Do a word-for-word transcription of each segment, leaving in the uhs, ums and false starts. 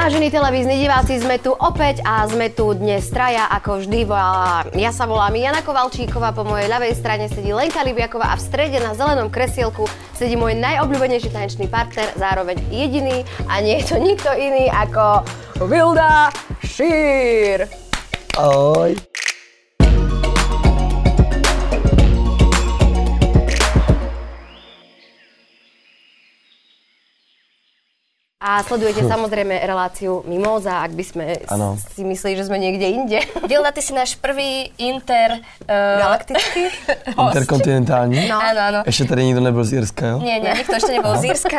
Vážení televízni diváci, sme tu opäť a sme tu dnes traja, ako vždy. Ja sa volám Jana Kovalčíková, po mojej ľavej strane sedí Lenka Libiaková a v strede na zelenom kresielku sedí môj najobľúbenejší tanečný partner, zároveň jediný a nie je to nikto iný ako Vilda Šír. Ahoj. A sledujete samozrejme reláciu Mimóza, ak by sme ano. si mysleli, že sme niekde inde. Vilda, ty si náš prvý inter... Uh, Galaktický? Interkontinentální? No. Áno, áno. Ešte tady nikto nebol z Írska, jo? Nie, nie, nikto ešte nebol z Írska.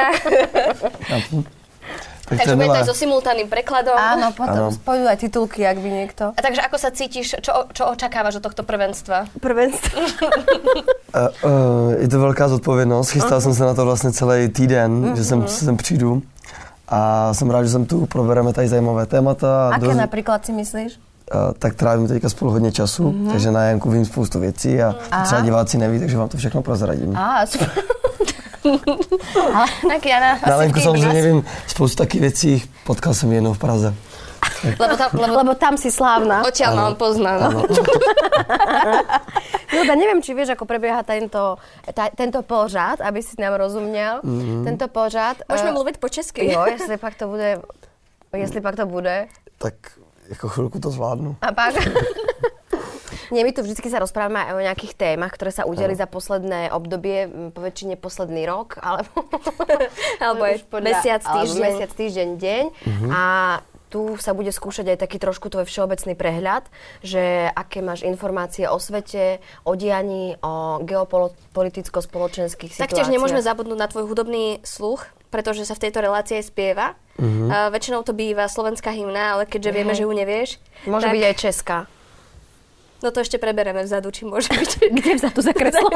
Tak takže bude to aj so simultánnym prekladom. Áno, potom spojujú aj titulky, ak by niekto. A takže ako sa cítiš, čo, čo očakávaš od tohto prvenstva? Prvenstvo? uh, uh, je to velká zodpovědnost. Chystal uh-huh. jsem se na to vlastně celý týden, uh-huh. že sem, sem přijdu. A jsem rád, že jsem tu, probereme tady zajímavé témata. Aké dost... například si myslíš? Uh, tak trávím teďka spolu hodně času, uh-huh. takže na Janku vím spoustu věcí a uh-huh. třeba diváci neví, takže vám to všechno prozradím. Á, super. Ale tak Jana, na Lenku samozřejmě vím spoustu taky věcí, potkal jsem jednou v Praze. Lebo tam, lebo, lebo tam si slávna. Odtiaľ ma on pozná. No. Vilda, neviem, či vieš, ako prebieha tento, ta, tento pořad, aby si nám rozuměl. Mm-hmm. Tento pořad... Môžeme uh, mluvit po česky. Jo, jestli pak to bude... Jestli pak to bude... Tak jako chvilku to zvládnu. A pak... Nie, my tu vždycky sa rozprávame aj o nejakých témach, ktoré sa udiali za posledné obdobie, poväčšine posledný rok, alebo... alebo aj mesiac, týždeň. Alebo mesiac, týždeň, deň. Mm-hmm. A tu sa bude skúšať aj taký trošku tvoj všeobecný prehľad, že aké máš informácie o svete, o dianí, o geopoliticko-spoločenských situáciách. Taktiež nemôžeme zabudnúť na tvoj hudobný sluch, pretože sa v tejto relácii spieva. Mm-hmm. Uh, väčšinou to býva slovenská hymna, ale keďže mm-hmm. vieme, že ju nevieš... Môže tak... byť aj česká. No to ešte prebereme vzadu, či môže byť. Kde vzadu za kreslo?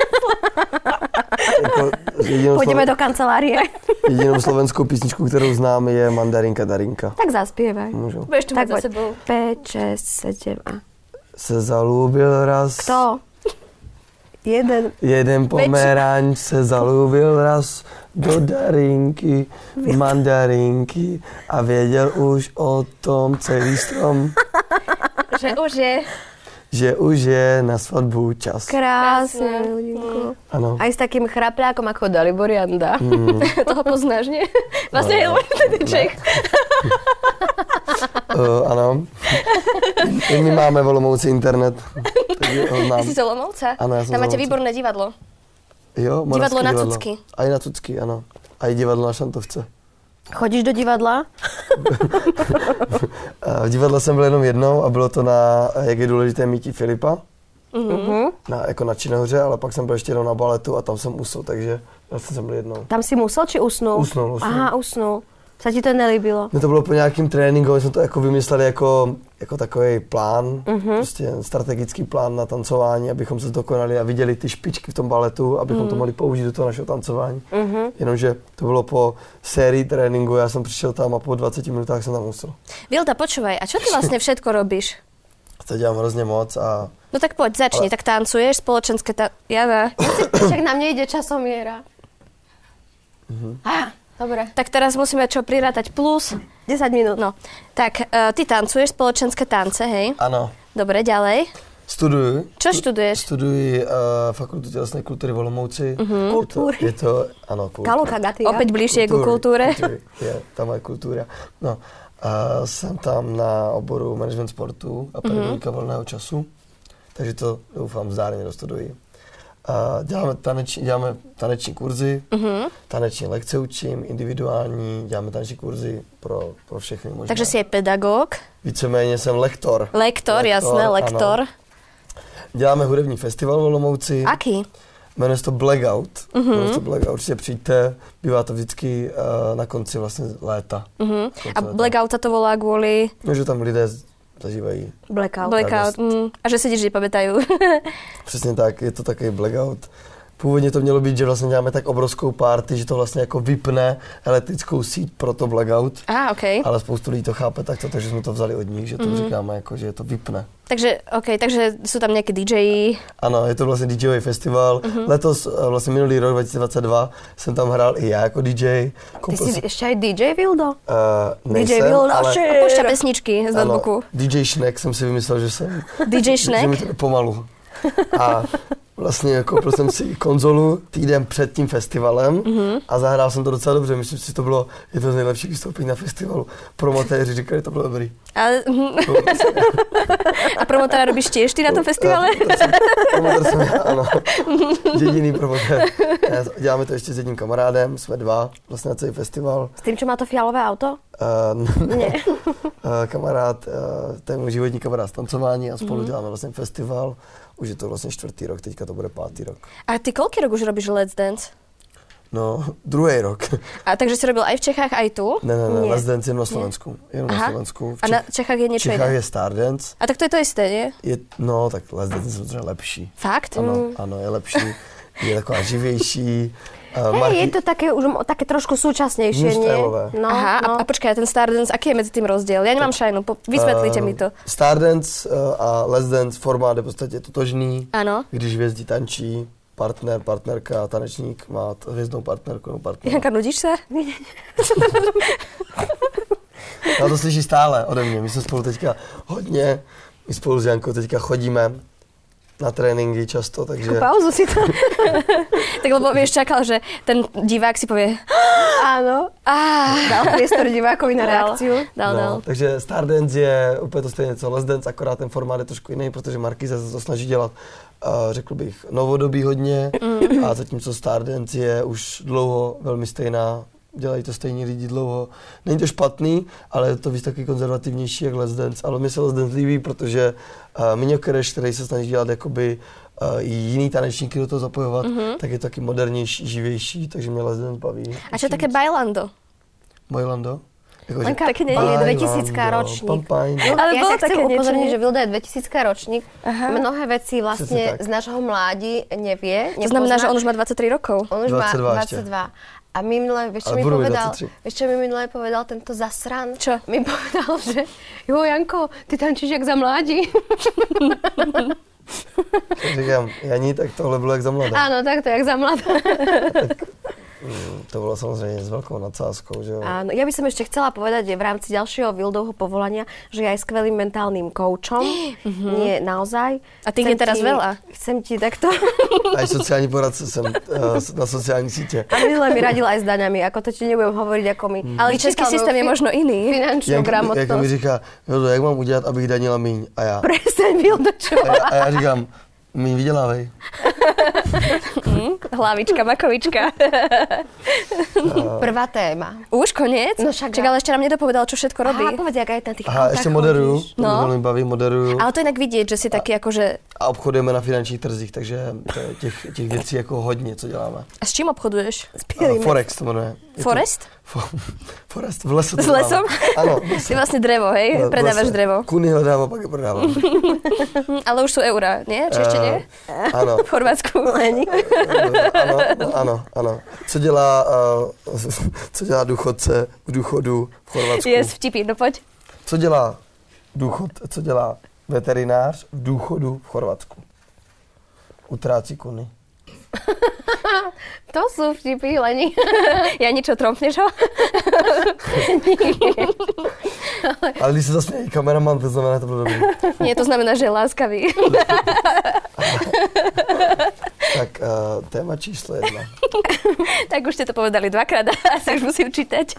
Pôjdeme do kancelárie. Jedinou slovenskou písničku, ktorú znám, je Mandarinka Darinka. Tak zaspievaj. Môžu. Budeš tu mať za sebou. päť, šesť, sedem a... Se zalúbil raz... Kto? Jeden. Jeden pomeranč se zalúbil raz do Darinky, mandarinky a věděl už o tom celý strom. Že už je... Že už je na svatbu čas. Krásne, ľudinku. Áno. Aj s takým chrapľákom ako Dalibor Janda. Mm. Toho poznáš, nie? Vlastne no, je ten Čech. uh, áno. My máme v Olomouci internet. Ty si z Olomouca? Áno, ja som Tam máte Olomouca. Výborné divadlo. Jo, divadlo na divadlo. Cucky. Aj na Cucky, áno. Aj divadlo na Šantovce. Chodíš do divadla? V divadle jsem byl jenom jednou a bylo to na, jak je důležité mítí Filipa, mm-hmm. na, jako na Činohře, ale pak jsem byl ještě jednou na baletu a tam jsem usl, takže vlastně jsem byl jednou. Tam si musel, či usnul? Usnul, usnul. Aha, usnul. Sa ti to nelíbilo? Mně to bylo po nějakým tréninku, my jsme to jako vymysleli jako, jako takový plán, mm-hmm. prostě strategický plán na tancování, abychom se zdokonali a viděli ty špičky v tom baletu, abychom mm. to mohli použít do toho našeho tancování. Mm-hmm. Jenomže to bylo po sérii tréninku, já jsem přišel tam a po dvaceti minutách jsem tam usl. Vilda, počúvaj, a čo ty vlastne všetko robíš? To dělám hrozně moc a... No tak poď, začni, ale... tak tancuješ, spoločenské ta... Jana. Však nám nejde časomiera. Mhm. Ah. Dobre. Tak teraz musíme čo prirátať plus desať minút. No. Tak uh, ty tancuješ spoločenské tance, hej? Ano. Dobre, ďalej. Studuji. Čo študuješ? Studuji uh, fakultu tělesné kultury v Olomouci. Uh-huh. Kultúry. Je to, je to ano, kultura. Kaluka Gatia. Opäť bližšie ku kultúre. Kultury, je, tam je kultura. No, uh, jsem tam na oboru management sportu a pedagogika uh-huh. volného času, takže to doufám zdárně dostuduji. Uh, děláme, taneční, děláme taneční kurzy, uh-huh. taneční lekce učím, individuální, děláme taneční kurzy pro, pro všechny možná. Takže si je pedagog? Víceméně jsem lektor. Lektor, lektor jasné, lektor. Ano. Děláme hudební festival v Olomouci. Aký? Jmenuje se to Blackout. Uh-huh. Jmenuje se to Blackout. Určitě přijďte, bývá to vždycky uh, na konci vlastně léta. Uh-huh. A léta. Blackout sa to volá kvôli? No, že tam lidé zažívají blackout. Blackout. Mm. A že si ti nepamätajú. Přesně tak, je to takový blackout. Původně to mělo být, že vlastně děláme tak obrovskou party, že to vlastně jako vypne elektrickou síť pro to blackout. Á, okej. Ale spoustu lidí to chápe takto, takže jsme to vzali od nich, že to Mhm. říkáme jako, že to vypne. Takže, okej, takže sú tam nejaké dí džeji. Ano, je to vlastně DJový festival. Mhm. Letos, eh, vlastně minulý rok dva tisíce dvacet dva, jsem tam hrál i já jako dý džej. Ty Koupil si jsem- ešte aj dý džej, Vildo? Uh, dý džej nejsem, Vilda, ale shit. Púšťa pesničky z ano, notebooku. dý džej Šnek jsem si vymyslel, že jsem. dý džej Že mi Šnek? to jde pomalu. A vlastně koupil jsem si konzolu týden před tím festivalem Mhm. a zahrál jsem to docela dobře. Myslím si, že to bylo jedno z nejlepších vystoupení na festivalu. Promotéři říkali, že to bylo dobrý. Ale, a promotora robíš tiež ty na tom festivale? Promotér jsem já, ano. Jediný promotér. Já- Děláme to ještě s jedním kamarádem, jsme dva vlastně na celý festival. S tým, čo má to fialové auto? Uh, Nie. uh, kamarád, uh, to je můj životní kamarád z tancování a spolu Mhm. děláme vlastně festival. Už je to vlastně čtvrtý rok, teďka to bude pátý rok. A ty koľký rok už robíš Let's Dance? No, druhý rok. A takže si robil aj v Čechách, aj tu? Ne, ne, ne, Nie. Let's Dance jenom na Slovensku. Jenom na Aha. Slovensku. V A na Čechách je v niečo Čechách iné? je Stardance. A tak to je to isté, nie? Je, no, tak Let's Dance je samozřejmě lepší. Fakt? Ano, Mm. ano, je lepší. Je taková živější. Uh, Hej, je to také už mo- také trošku súčasnejšie, nie? Newstyleové. No, Aha, no. a, a počkaj, ten Stardance, aký je medzi tým rozdiel? Ja nemám šajnu, po, vysvetlite mi to. Stardance uh, a Let's Dance formát je v podstatě totožný. Áno. Když hvězdi tančí, partner, partnerka, tanečník má t- hvězdnou partnerku nebo partnera. Janka, nudíš sa? Já to slyší stále ode mě. My jsme spolu teďka hodně, my spolu s Jankou teďka chodíme na tréninky často, takže... Pauzu si to. Tak lebo vieš, čakal, že ten divák si povie Áno. ah, Dal priestor divákovi na Dal. reakciu. dal, dal. No, takže Stardance je úplně to stejné co Let's Dance, akorát ten formát je trošku jiný, protože Markýza se to snaží dělat, uh, řekl bych, novodobí hodně Mm. a zatímco Stardance je už dlouho velmi stejná, dělají to stejní lidi dlouho. Není to špatný, ale je to víc taky konzervativnější jak Let's Dance, ale mi se Let's Dance líbí, protože uh, Miňo Kereš, který se snaží dělat jakoby uh, i jiný tanečníky do toho zapojovat, Mhm. tak je taky modernější, živější, takže mě Let's Dance baví. A čo také bailando? Mojlando? Jako, Lenka, Také nie- on je Bailando, dvetisícka ročník. pampajndo. No, Ale ja bolo sa chcem také niečo, upozorniť, nie? že Vilda je dvetisícka ročník. Aha. Mnohé veci Presne vlastne tak. z nášho mládí nevie, To znamená, nepozná. že on už má dvadsaťtri rokov. On už má dvadsaťdva ešte. dvadsaťdva. A minule, vieš čo Ale mi budú mať povedal? dvadsaťtri. Vieš čo mi minule povedal tento zasran? Čo? Mi povedal, že jo Janko, ty tančíš jak za mládí. Říkám, Janí, tak tohle bylo jak za mladé. Áno, tak to jak za mladá. Mm, to bylo samozřejmě s velkou nadsázkou, že jo. Áno, ja by som ešte chcela povedať že v rámci ďalšieho Vildovho povolania, že je aj skvelým mentálnym koučom. Nie, naozaj. A ty Chcem je teraz ti- veľa. Chcem ti takto. A i sociální poradce jsem uh, na sociální sítě. A minule mi radil aj s daňami, ako to ti nebudem hovoriť, ako mi... Ale český vyčítal systém je moju možno iný. Finančnú Jak, jak mi gramotnosť. říká, Vildo, jak mám udělat, abych danila míň? A já, Prestaň, Vildo, čo? a já, a já říkám, míň vydělávej. Hlavička, makovička. Prvá téma. Už koniec? No však Čak, ale ešte nám nedopovedal, čo všetko robí. Aha, povedz, jak aj na tých Aha, autách ještě moderuju, chodíš. to No. mě velmi baví, moderuju. Ale to inak vidieť, že si taký akože... A obchodujeme na finančních trzích, takže to je těch, těch věcí jako hodně, co děláme. A s čím obchoduješ? Uh, Forex to jmenuje. Je to- Forest? Fo- Forest, v lesu to S děláme. lesom? Ano, v lese. Ty vlastne drevo, hej? V Predávaš lese. drevo. Kuny hledám a pak je prodávám. Hm, ale už sú eurá, nie? Či ešte nie? Eh, ano. V Chorvátsku. ano, ano, ano. Co dělá, uh, co dělá důchodce v důchodu v Chorvatsku? Yes, vtipy, no poď. Co dělá důchod, co dělá veterinář v důchodu v Chorvatsku? Utrácí kuny. To sú vtipy, Leni. Ja niečo trompneš ho? Ale když se zasměje kameraman, to znamená, to bylo dobrý. Nie, to znamená, že je láskavý. Tak uh, téma číslo jedna. Tak už ste to povedali dvakrát a asi už musím čítať.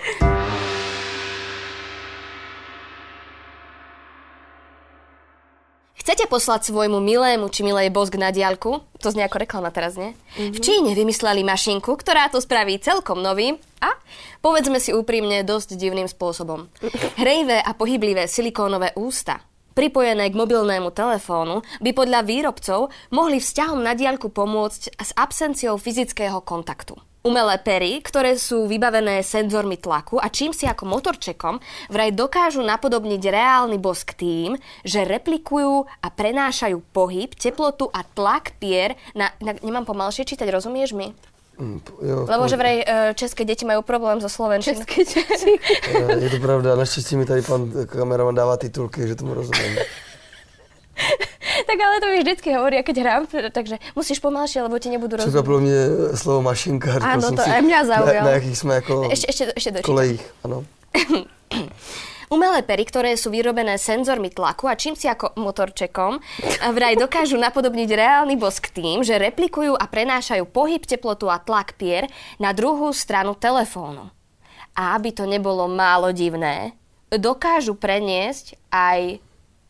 Chcete poslať svojmu milému či milej bosk na diaľku? To znie ako reklama teraz, nie? Mm-hmm. V Číne vymysleli mašinku, ktorá to spraví celkom novým a, povedzme si úprimne, dosť divným spôsobom. Hrejvé a pohyblivé silikónové ústa, pripojené k mobilnému telefónu, by podľa výrobcov mohli vzťahom na diaľku pomôcť s absenciou fyzického kontaktu. Umelé pery, ktoré sú vybavené senzormi tlaku a čím si ako motorčekom, vraj dokážu napodobniť reálny bosk tým, že replikujú a prenášajú pohyb, teplotu a tlak pier na... na nemám pomalšie čítať, rozumieš mi? Mm, jo, Lebo že vraj české deti majú problém so slovenčinou. České deti. Je to pravda, naštěstí mi tady pan kameraman dává titulky, že tomu rozumím. Tak ale to mi vždycky hovoria, keď hrám, takže musíš pomalšie, lebo ti nebudú rozumieť. Překvapilo mě slovo mašinka. Áno, to aj mňa zaujalo. Na, na jakých jsme jako Ešte, ešte, ešte dočítam. kolejích, ano. Umelé pery, ktoré sú vyrobené senzormi tlaku a čím si ako motorčekom, vraj dokážu napodobniť reálny bosk tým, že replikujú a prenášajú pohyb, teplotu a tlak pier na druhú stranu telefónu. A aby to nebolo málo divné, dokážu preniesť aj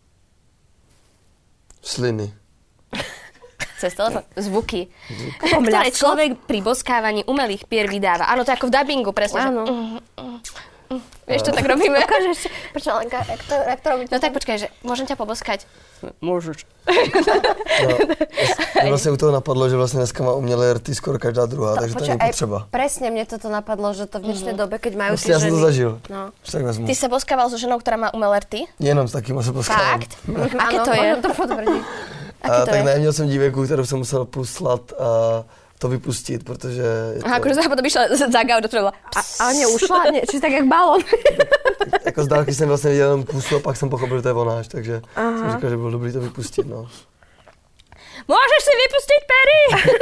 Sliny. cez telefón zvuky, ktoré človek pri boskávaní umelých pier vydáva. Áno, to je ako v dabingu, presne. Áno. Že... Mm, mm, mm. Vieš, čo tak robíme? Ukážeš, počkaj, Lenka, jak to, jak to robíte? No tak počkaj, že môžem ťa poboskať? Môžeš. No, mě vlastně u toho napadlo, že vlastně dneska má umělé rty skoro každá druhá, takže to není potřeba. Presne mne toto napadlo, že to v dnešnej Mhm. dobe, keď majú Vlastně tie já jsem ženy... to zažil. No. Že tak vezmu. Ty sa boskával so ženou, ktorá má umelé rty? Jenom s takým se poskávám. Fakt? Aké to je? Môžem to potvrdiť. Aké A, to tak je? ne, měl jsem dívejku, kterou jsem musel poslat a to vypustit, protože... Je to, Aha, akože sa potom išla za gauč, do toho bola... A, ale neušla? Nie, či tak jak balón. jako z dálky jsem vlastně viděl jenom pusu a pak jsem pochopil, že to je ona, takže Aha. jsem říkal, že bylo dobrý to vypustit, no. Môžeš si vypustiť pery!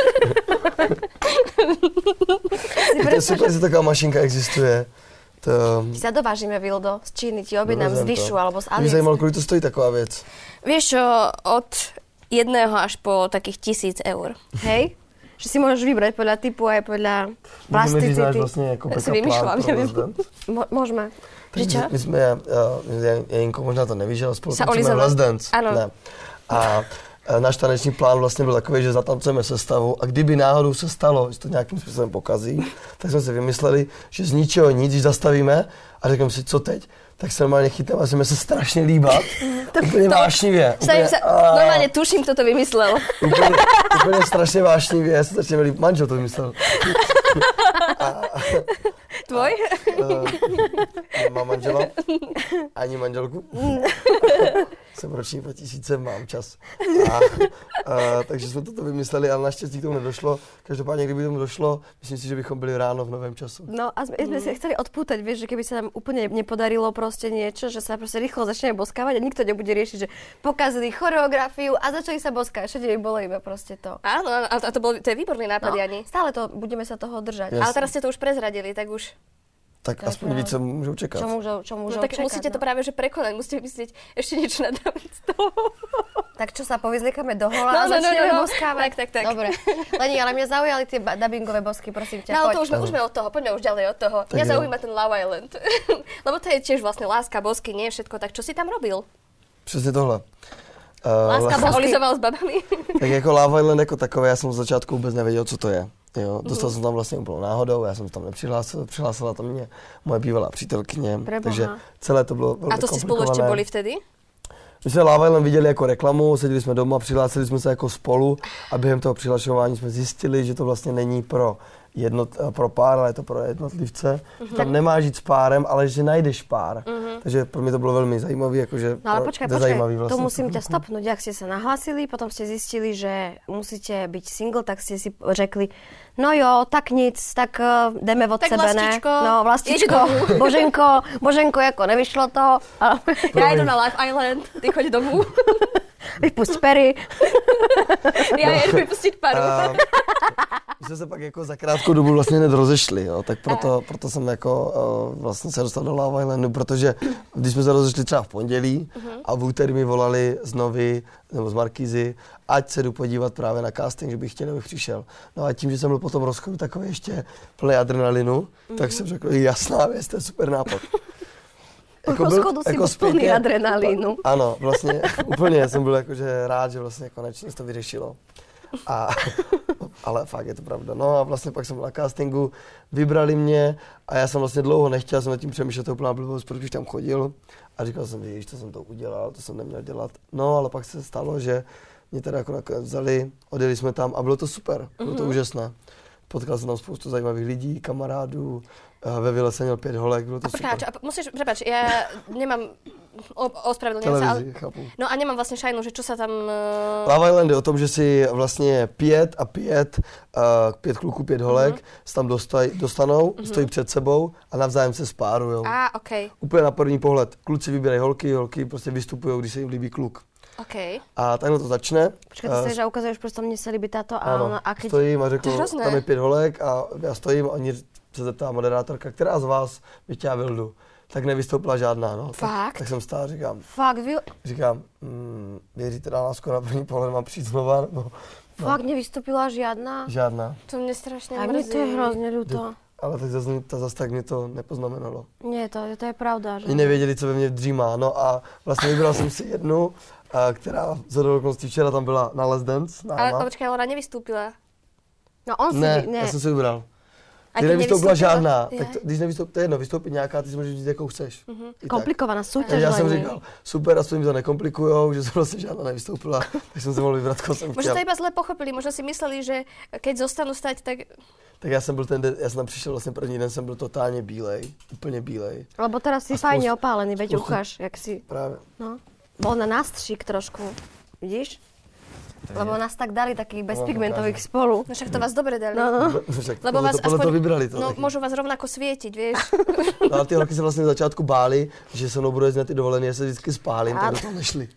To je super, že taková mašinka existuje. To... Ti sa dovážime, Vildo, z Číny, ti objednám z Dovezem Vyšu to. alebo z Mě AliExpress. zajímalo, kolik to stojí taková věc. Vieš čo, od jedného až po takých tisíc eur. Hej? Že si môžeš vybrať podľa typu aj podľa Můžeme říct náš plasticity. vlastně jako Já si backup vymýšlám, plán pro nevím. Lesdent. Mo- môžeme. Že čo? My, my jsme, uh, Jenko možná to nevíš, ale spolu Sa tancujeme olizovali. Last Dance. Ano. Ne. A uh, náš taneční plán vlastně byl takový, že zatancujeme sestavu a kdyby náhodou se stalo, že to nějakým způsobem pokazí, tak jsme si vymysleli, že z ničeho nic, když zastavíme a řekneme si, co teď, tak se normálně chytneme a začneme se strašně líbat. Úplně vášnivě. Stavím sa, a- normálne tuším, kto to vymyslel. Úplně, úplně strašně vášnivě, se začneme líbat. Manžel to vymyslel. Tvoj? Uh, nemám manžela, ani manželku. Jsem roční dva tisíce, mám čas. A, uh, takže jsme toto vymysleli, ale naštěstí k tomu nedošlo. Každopádně, kdyby tomu došlo, myslím si, že bychom byli ráno v novém času. No a sme, sme si chceli odpútať, vieš, že keby sa nám úplne nepodarilo proste niečo, že sa proste rýchlo začneme boskávať a nikto nebude riešiť, že pokazili choreografiu a začali sa boskávať. Všetko by bolo iba proste to. Áno, áno, a to, bol, to je výborný nápad, No, Jani. stále to, budeme sa toho držať. Jasne. Ale teraz ste to už prezradili, tak už... Tak To je aspoň pravda. víc, co můžou čekat. Čo môžu, čo No môžu tak čakať, musíte to no. práve že prekonať, musíte vymyslieť ešte niečo nad rámec toho. Tak čo sa povyzliekame do hola No, a no, no, začneme no, no. boskávať? Tak, tak, tak. Dobre. Leni, ale mňa zaujali tie ba- dubbingové bosky, prosím ťa, No ale poď. to už sme, už sme od toho, poďme už ďalej od toho. Tak Mňa jo. zaujíma ten Love Island. Lebo to je tiež vlastne láska, bosky, nie všetko. Tak čo si tam robil? Přesně tohle. Uh, Láska, bosky. olizoval s babami? Tak jako Love Island jako takové, já jsem z začátku vůbec nevěděl, co to je. Jo, dostal jsem tam vlastně úplnou náhodou, já jsem se tam nepřihlásil, přihlásila to mě moje bývalá přítelkyně, Preboha. takže celé to bylo velmi A to ste spolu ešte komplikované. boli vtedy? My jsme Love Island viděli jako reklamu, seděli jsme doma, přihlásili jsme se jako spolu a během toho přihlašování jsme zjistili, že to vlastně není pro, jednot, pro pár, ale je to pro jednotlivce. Mm-hmm. Tam nemáš jít s párem, ale že najdeš pár. Mm-hmm. Takže pro mě to bylo velmi zajímavé, jakože No ale počkaj, počkaj, zajímavý vlastně. to musím ťa stopnúť. Ak ste sa nahlásili, potom ste zistili, že musíte byť single, tak ste si řekli, no jo, tak nic, tak uh, jdeme od Tak sebe, vlastičko, ne? No, vlastičko, ideš Boženko, Boženko, jako nevyšlo to. Ale Ja idu na Love Island, ty choď domů. vypusť pery. Ja jedu vypustiť paru. A my jsme se pak jako za krátkou dobu vlastně hned rozešli, jo, tak proto, proto jsem jako uh, vlastně se dostal do Love Islandu, protože když jsme se rozešli třeba v pondělí a v úterý mi volali z Novy nebo z Markízy, ať se jdu podívat právě na casting, že bych chtěl, abych přišel. No a tím, že jsem byl po tom rozchodu takový ještě plný adrenalinu, tak jsem řekl, jasná věc, to je super nápad. Po rozchodu si byl plný adrenalínu. Ano, vlastně úplně jsem byl jakože rád, že vlastně konečně se to vyřešilo. A ale fakt je to pravda. No a vlastně pak jsem byl na castingu, vybrali mě a já jsem vlastně dlouho nechtěl, jsem nad tím přemýšlel, to úplná blbost, protože tam chodil a říkal jsem, víš, to jsem to udělal, to jsem neměl dělat. No ale pak se stalo, že mě teda jako nakonec vzali, odjeli jsme tam a bylo to super, bylo to mm-hmm. úžasné. Potkal jsem tam spoustu zajímavých lidí, kamarádů, ve vile jsem měl pět holek, bylo to a super. Počkáč, a musíš, prepáč, ja nemám, ospravedlňujem sa, ale... chápu. No a nemám vlastně šajnu, že čo sa tam... Uh... Love Island je o tom, že si vlastně pět a pět, uh, pět kluků, pět holek, mm-hmm. se tam dostaj, dostanou, mm-hmm. stojí před sebou a navzájem se spárujou. A, okej. Okay. Úplně na první pohled. Kluci vybírají holky, holky prostě vystupují, když se jim líbí kluk. Okay. A takhle to začne. Počkej, ty uh, že ukazuješ, prostě mně se líbí táto a ona... A keď... stojím a řeknu, tam je pět holek a já stojím a oni se zeptá moderátorka, která z vás by chtěla Vildu. Tak nevystoupila žádná, no. Fakt? Tak, tak jsem stál a říkám, Fakt, vy... říkám, mm, věříte na lásku na první pohled, mám přijít znova, nebo... No. Fakt nevystoupila žádná? Žádná. To mě strašně mrzí. A mě to je hrozně ľúto. Ale tak zase, zase tak mě to nepoznamenalo. Nie, to, to je pravda, že? Oni nevěděli, co ve mně dřímá, no a vlastně vybral jsem si jednu, a která z okolností včera tam byla na Let's Dance. Ale, ale počkej, ona nevystoupila. No on si... Ne, ne. já jsem si vybral. A ty nevystoupila žádná, je. tak to, když nevystoupí, to je jedno, vystoupí nějaká, ty si můžeš říct, jakou chceš. Mm-hmm. Komplikovaná soutěž. Já jsem říkal, super, aspoň mi to nekomplikujou, že jsem vlastně žádná nevystoupila, tak jsem se mohl vybrat, koho jsem chtěl. Možná to iba zle pochopili, možná si mysleli, že keď zostanú stať, tak... Tak já jsem byl ten den, já jsem tam přišel vlastně první den, jsem byl totálně bílej, úplně bílej. Lebo teraz si spoust... fajně opálený, veď spoustu... ukáž, jak si... Právě. No, bol na nástřik trošku, vidíš? Lebo nás tak dali takých bezpigmentových spolu. No však to vás dobre dali. No, no. Lebo vás to, aspoň, to vybrali to. No, taky. môžu vás rovnako svietiť, vieš. No a ty holky se vlastně na začátku báli, že se mnou budou jezdit na ty dovolené, se vždycky spálím, tak do toho nešli.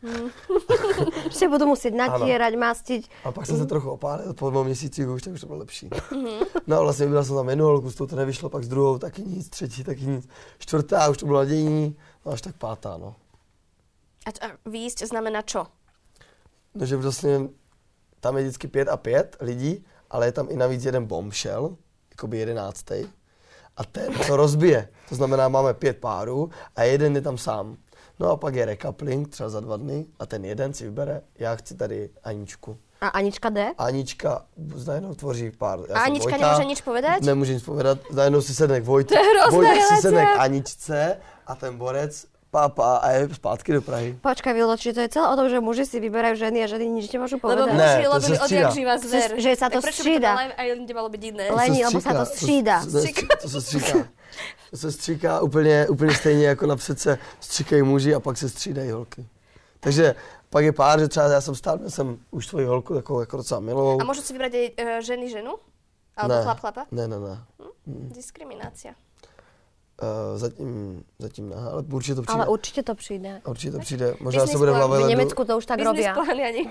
Že budu muset natírať, mastiť. A pak jsem se trochu opálil, po dvou měsících už, tak už to bylo lepší. No a vlastně vybral jsem tam jednu holku, s tou to nevyšlo, pak s druhou taky nic, třetí taky nic, čtvrtá už to bylo nadějní, no až tak pátá, no. A, a výjsť znamená čo? No, že vlastně tam je vždycky pět a pět lidí, ale je tam i navíc jeden bombshell, jakoby jedenáctej. A ten to rozbije. To znamená, máme pět párů a jeden je tam sám. No a pak je recoupling, třeba za dva dny, a ten jeden si vybere, já chci tady Aničku. A Anička jde? Anička najednou tvoří pár. Já a Anička Vojta, nemůže nič povedať? Nemůže nic povedat. Najednou si sedne k Vojtu. To je hrozné, Vojta si sedne k Aničce a ten borec pápa a je zpátky do Prahy. Počkaj, Vildo, či to je celé o tom, že muži si vyberajú ženy a ženy nič nemôžu povedať? Lebo muži robili odjak živá zver. Že sa to tak prečo střída. by to aj nemalo byť iné? Lení, lebo sa to střída. To, to, to, to se stříká. To se stříká úplně, úplně stejně jako napřed se stříkají muži a pak se střídají holky. Takže pak je pár, že třeba já jsem stál, měl jsem už svoji holku takovou jako docela milou. A môžu si vybrať aj uh, ženy ženu? Alebo ne, chlap chlapa? Ne, ne, ne. Hm? Diskriminácia. Uh, zatím, zatím ne, ale určitě to přijde. Ale určitě to přijde. Určitě to přijde. Možná Business se bude v Love Islandu. V Německu to už tak robí. Business plán, Jani.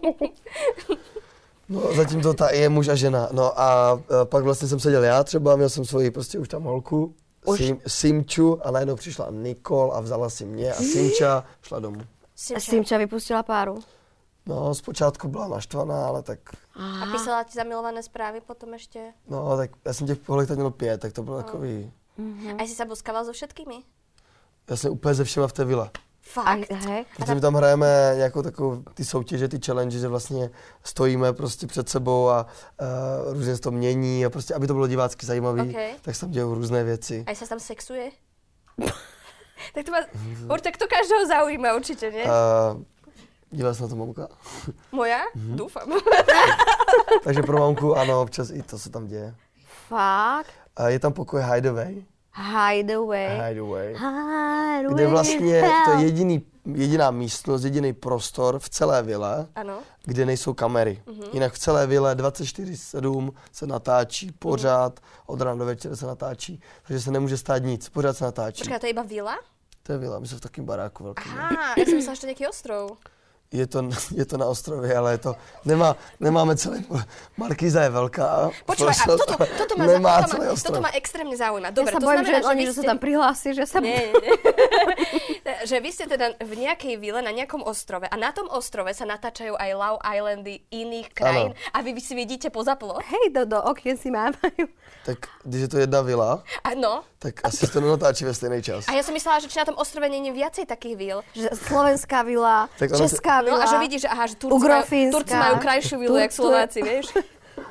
No zatím to ta je muž a žena. No a uh, pak vlastně jsem seděl já třeba, měl jsem svoji prostě už tam holku, Sim, Simču a najednou přišla Nikol a vzala si mě a Simča šla domů. Simča, Simča vypustila páru. No, zpočátku byla naštvaná, ale tak... Aha. A písala ti zamilované správy potom ještě? No, tak já jsem těch holek tak měl pět, tak to bylo no. takový... Mm-hmm. A jsi se boskával so všetkými? Já jsem úplně ze všema v té vile. Fakt? Hej. Protože my tam hrajeme nějakou takovou ty soutěže, ty challenge, že vlastně stojíme prostě před sebou a uh, různě se to mění a prostě, aby to bylo divácky zajímavý, okay. tak se tam dějou různé věci. A se tam sexuje? Tak to má, tak to každého zaujíma určitě, ne? Uh, Dívala se na to mamka? Moja? Mm-hmm. Doufám. Takže pro mamku ano, občas i to se tam děje. Fakt? Uh, je tam pokoj Hideaway. Hideaway. Hideaway. Hideaway. Kde vlastně to je jediný, jediná místnost, jediný prostor v celé vile, ano. kde nejsou kamery. Mm-hmm. Jinak v celé vile dvacet čtyři sedm se natáčí, pořád, mm-hmm. od rána do večera se natáčí, takže se nemůže stát nic, pořád se natáčí. Počkej, to je iba vila? To je vila, my jsme v takém baráku velkým. Aha, já jsem myslela, že to je nějaký ostrov. Je to, je to na ostrově, ale je to, nemá, nemáme celý, Markíza je velká. Počúvaj, a toto, toto, ma, nemá toto, ma, toto ma extrémne zaujíma. Dobre, ja sa to bojím, znamená, že, že oni, ste... že sa tam prihlási, že sa... Nie, nie. Že vy ste teda v nejakej vile na nejakom ostrove a na tom ostrove sa natáčajú aj Love Islandy iných krajín ano. A vy si vidíte poza plot? Hej, do, do okien si mávajú. Tak když je to jedna vila, ano. tak asi to nenatáčí ve stejný čas. A ja som myslela, že či na tom ostrove nie je viacej takých vil. Že slovenská vila, česká vila. No a že vidíš, že, aha, že Turci majú, Turci majú krajšiu vilu, jak Slováci, vieš?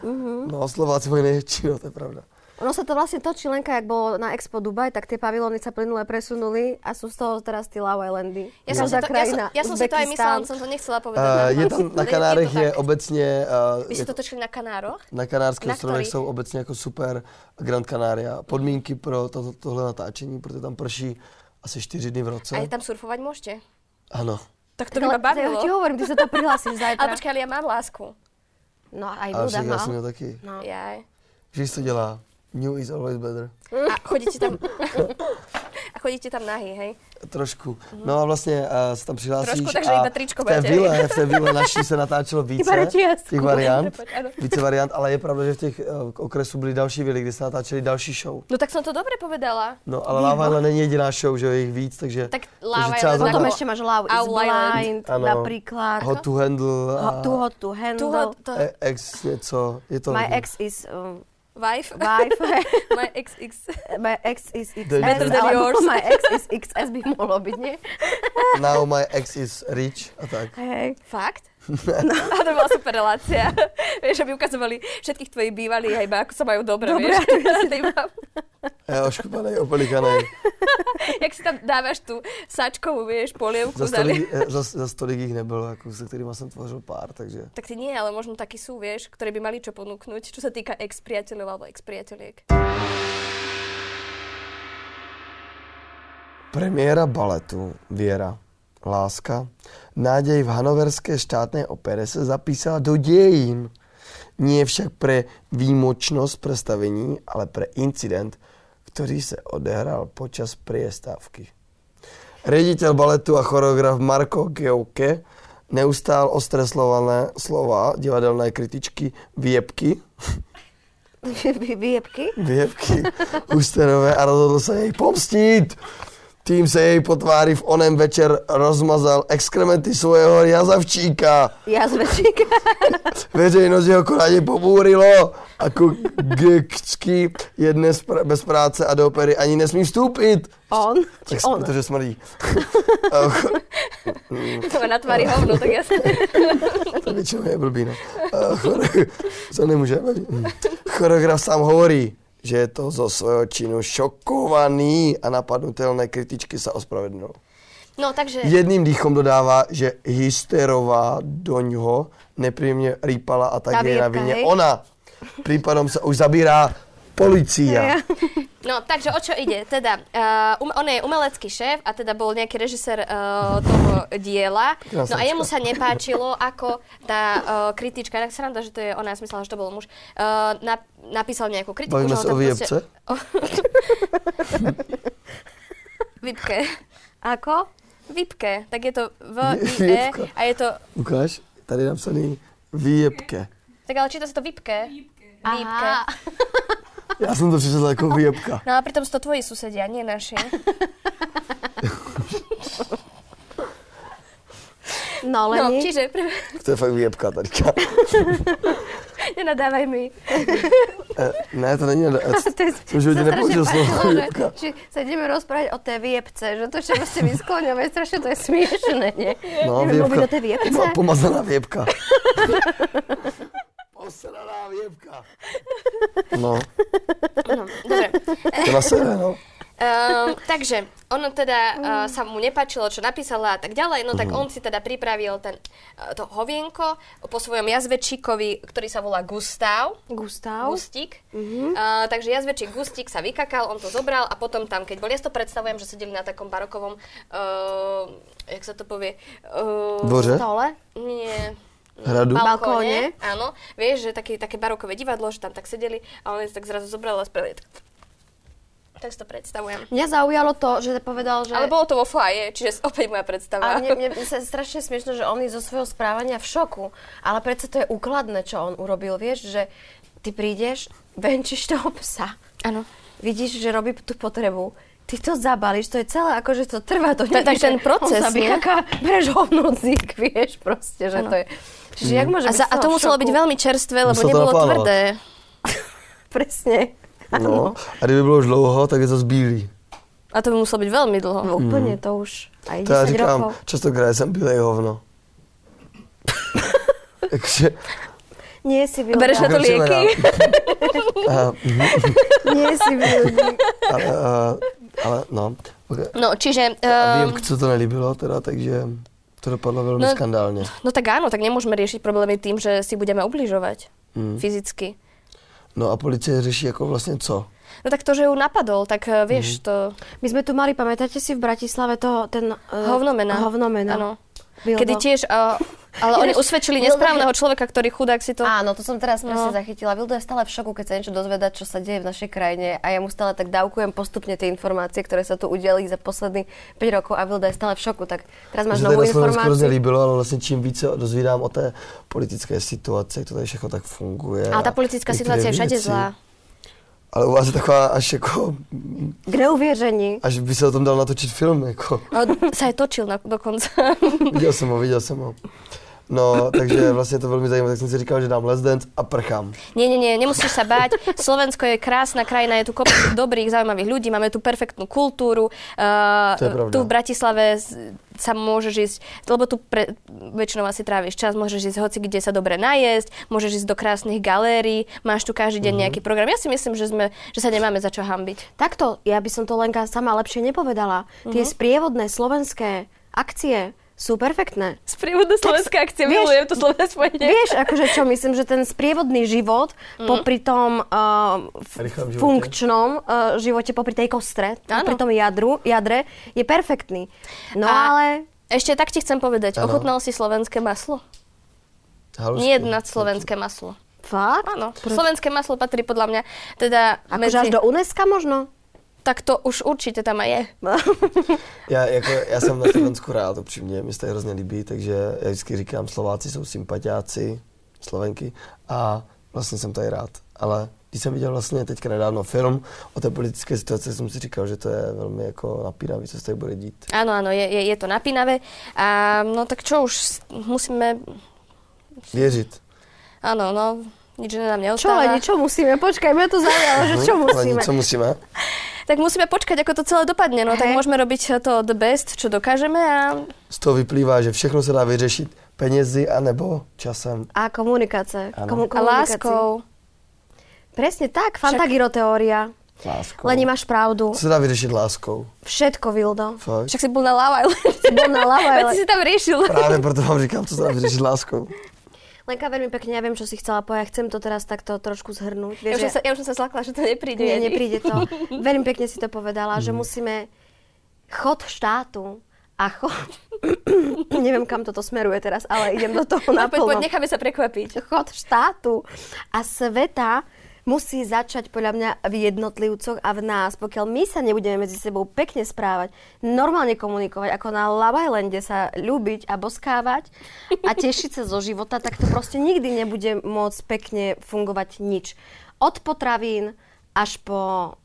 Uh-huh. No, Slováci mají největší, no, to je pravda. Ono sa to vlastne točí, Lenka, jak bolo na Expo Dubaj, tak tie pavilóny sa plynule presunuli a sú z toho teraz tí Love Islandy. Ja som, si to, ja, som, ja som si to aj myslela, som to nechcela povedať. Uh, je tam na Kanárech je, je obecne... Uh, Vy ste to točili na Kanároch? Na Kanárských ostrovech jsou obecně jako super Grand Canaria. Podmínky pro to, tohle natáčení, protože tam prší asi čtyři dny v roce. A je tam surfovať môžete? Ano. Tak to by ma bavilo. Ja ti hovorím, ty sa to prihlásiš zajtra. Ale počkaj, ale ja mám lásku. No aj ale Buda mal. Já jsem měl taky. No. Jaj. Víš, co dělá? New is always better. A chodíte tam... a chodíte tam nahý, hej? Trošku. No a vlastně uh, se tam přihlásíš Trošku, takže a iba tričko v té máte. vile, v té vile naší se natáčelo více těch variant. Více variant, ale je pravda, že v těch uh, okresů byly další vily, kde se natáčeli další show. No tak som to dobre povedala. No ale Love Island není jediná show, že je jich víc, takže... Tak Love Island... Potom ešte máš Love is Blind, ano. napríklad. Hot to handle. A... Too hot to handle. Too hot to... E- ex něco, je to... My hodně. ex is... Um, Wife. Wife. My ex X. My ex is X S, Better than yours. My ex is X S by mohlo byť, nie? Now my ex is rich a tak. Hej. Fakt? No. A to bola super relácia. Vieš, aby ukazovali všetkých tvojich bývalých, iba ako sa majú dobre, Dobre, vieš. Ja oškupanej, opolikanej. Jak si tam dávaš tú sačkovú, vieš, polievku. Za stolik, za, za stolik ich nebylo, ako, se kterýma jsem tvořil pár, takže... Tak ty nie, ale možno takí sú, vieš, ktorí by mali čo ponúknuť, čo sa týka ex-priateľov alebo ex-priateľiek. Premiéra baletu Věra, láska, náděj v hanoverské štátnej opere se zapísala do dějin. Nie však pre výmočnosť predstavení, ale pre incident, ktorý sa odehral počas priestávky. Riaditeľ baletu a choreograf Marko Geuke neustál ostreslované slova divadelné kritičky Viebky. Viebky? Viebky Husterové a rozhodl sa jej pomstít. Tým se jej po tváři v onem večer rozmazal exkrementy svojho jazavčíka. Jazvečíka. Veřejnost jeho koráně pobúrilo. Ako Gecky je dnes pr- bez práce a do opery ani nesmí vstúpit. On? Tak, on? Protože smrdí. To má na tvári hovno, tak jasne. To většinou je blbý, no. Chore- Co nemůže. Choreograf sám hovorí, že je to zo svojho činu šokovaný a napadnutelné kritičky sa ospravedlnil. No, takže... Jedným dýchom dodává, že Hysterová do ňoho nepríjemne rýpala a tak je na vine ona. Prípadom sa už zabírá polícia. No, takže o čo ide? Teda, uh, um, on je umelecký šéf a teda bol nejaký režisér uh, toho diela. No a jemu sa nepáčilo, ako tá uh, kritička, tak sranda, že to je ona, ja som myslela, že to bol muž, uh, nap- napísal nejakú kritiku. Bavíme sa o Viebce? Vipke. Ako? Vipke. Tak je to V-I-E a je to... Ukáž, tady je napsaný Viebke. Tak ale číta sa to Vipke. Vipke. Ja som to přečetla ako Viebka. No a pritom sú to tvoji susedia, nie naši. No, len No, nie. čiže... To je fakt Viebka tadyka. Nenadávaj mi. E, ne, to není nadávaj. Som v živote nepoužil slovo Viebka. Či sa ideme rozprávať o tej Viebce, že to, čo ste vyskloňovali, strašne to je smiešné, nie? No, Ideme mluviť Viebka. o tej Viebce. Po- Pomazaná Viebka. Posraná Viebka. No, No, dobre. to na sebe, no. Um, takže ono teda uh, sa mu nepáčilo, čo napísala a tak ďalej, no tak on si teda pripravil ten, uh, to hovienko po svojom jazvečíkovi, ktorý sa volá Gustav. Gustav. Gustík. Uh, takže jazvečík Gustík sa vykakal, on to zobral a potom tam, keď bol, ja si to predstavujem, že sedeli na takom barokovom, uh, jak sa to povie? Uh, Dvoře? Stole. Nie. Hradu? Balkóne. Áno. Vieš, že také, také barokové divadlo, že tam tak sedeli a on si tak zrazu zobral a spravili tak. Tak si to predstavujem. Mňa zaujalo to, že povedal, že... Ale bolo to vo foaje, čiže opäť moja predstava. A mne, mne sa strašne smiešno, že on je zo svojho správania v šoku. Ale predsa to je úkladné, čo on urobil. Vieš, že ty prídeš, venčíš toho psa. Áno. Vidíš, že robí tú potrebu. Ty to zabališ, to je celé, akože to trvá. To Tak ten proces, on sa nie? vykaká, bereš ho v nocík, vieš, proste, že Ano. to je... Čiže jak môže A, byť za, z a toho to v muselo šoku? byť veľmi čerstvé, lebo Musel to nebolo napálovať. tvrdé. Presne. No, a kdyby bylo už dlouho, tak je to zbílý. A to by muselo byť veľmi dlho. No, úplne to už aj To já desať říkám, rokov. častokrát jsem bílej hovno. Takže, Nie si Vilda. Bereš na to lieky? Nie si Vilda. Ale, uh, ale no. Okay. No, čiže... A Um, viem, co to nelíbilo, teda, takže to dopadlo veľmi no, skandálne. No tak áno, tak nemôžeme riešiť problémy tým, že si budeme ubližovať mm. fyzicky. No a policie řeší ako vlastne co? No tak to, že ju napadol, tak uh, vieš, mm. to... My sme tu mali, pamätáte si v Bratislave toho, ten... Uh, Hovnomena. Hovnomena. Áno. Vildo. Kedy tiež... Uh, ale oni usvedčili nesprávneho človeka, ktorý chudák si to... Áno, to som teraz presne No. zachytila. Vildo je stále v šoku, keď sa niečo dozvedá, čo sa deje v našej krajine a ja mu stále tak dávkujem postupne tie informácie, ktoré sa tu udiali za posledných päť rokov a Vildo je stále v šoku. Tak teraz máš novú informáciu. To hrozně líbilo, ale vlastně čím víc se dozvídám o té politické situaci, jak to tady všechno tak funguje. Ale tá politická situácia je všade zlá. Ale u vás je taková až jako... K neuvěření. Až by se o tom dal natočit film, jako. On sa aj točil na, dokonca. Viděl jsem ho, viděl jsem ho. No, takže vlastně to velmi zajímavé, tak jsem si říkal, že dám Let's Dance a prchám. Nie, nie, nie, nemusíš sa báť. Slovensko je krásna krajina, je tu kopec dobrých, zaujímavých ľudí, máme tu perfektnú kultúru. Uh, To je pravda. Tu v Bratislave sa môžeš ísť, lebo tu pre, väčšinou asi tráviš čas, môžeš ísť hoci kde sa dobre najesť, môžeš ísť do krásnych galérií, máš tu každý deň Mhm. nejaký program. Ja si myslím, že, sme, že sa nemáme za čo hanbiť. Takto, ja by som to Lenka sama lepšie nepovedala. Tie sprievodné slovenské akcie sú perfektné. Sprievodná slovenská akcia, vieš- milujem to slovné spojenie. Vieš, akože čo, myslím, že ten sprievodný život mm. popri tom uh, f- Rýchlom živote. funkčnom uh, živote, popri tej kostre, Áno. popri tom jadru, jadre, je perfektný. No A ale... Ešte tak ti chcem povedať, Áno. ochutnal si slovenské maslo? Halušky. Nie jedno slovenské maslo. Fakt? Áno, slovenské maslo patrí podľa mňa teda Akože až do UNESCO možno? Tak to už určite tam aj je. Já, jako, já jsem na Slovensku rád, upřímně, mi se to hrozně líbí, takže já vždycky říkám, Slováci jsou sympatiáci, Slovenky a vlastně jsem tady rád. Ale když jsem viděl vlastně teďka nedávno film o té politické situaci, jsem si říkal, že to je velmi jako napínavý, co se tady bude dít. Áno, áno, je, je, je to napínavé. A no tak čo už, musíme... Věřit. Áno, no, nič nám Čo neostáva. len, čo musíme? Počkaj, mňa to zaujalo, že čo Ale musíme? co musíme? Tak musíme počkať, ako to celé dopadne. No tak Hej. môžeme robiť to the best, čo dokážeme a... Z toho vyplývá, že všechno se dá vyřešit penězi anebo časem. A komunikácie. Áno. Komu- A komunikácii. láskou. Presne tak, fantagiroteória. Láskou. Leni, máš pravdu. Co se dá vyřešit láskou? Všetko, Vildo. Fakt? Však si bol na Love Island. Bol na Love Veď Island. si si tam riešil. Právě proto vám říkám, co se dá vyřešit láskou. Lenka, veľmi pekne, ja viem, čo si chcela povedať. Chcem to teraz takto trošku zhrnúť. Ja Vieš, už, som že... sa, ja už som sa zlakla, že to nepríde. Nie, ani. nepríde to. Veľmi pekne si to povedala, že musíme chod štátu a chod... Neviem, kam toto smeruje teraz, ale idem do toho No, poď, poď, naplno. necháme sa prekvapiť. Chod štátu a sveta musí začať podľa mňa v jednotlivcoch a v nás. Pokiaľ my sa nebudeme medzi sebou pekne správať, normálne komunikovať, ako na Love Islande sa ľúbiť a boskávať a tešiť sa zo života, tak to proste nikdy nebude môcť pekne fungovať nič. Od potravín až po...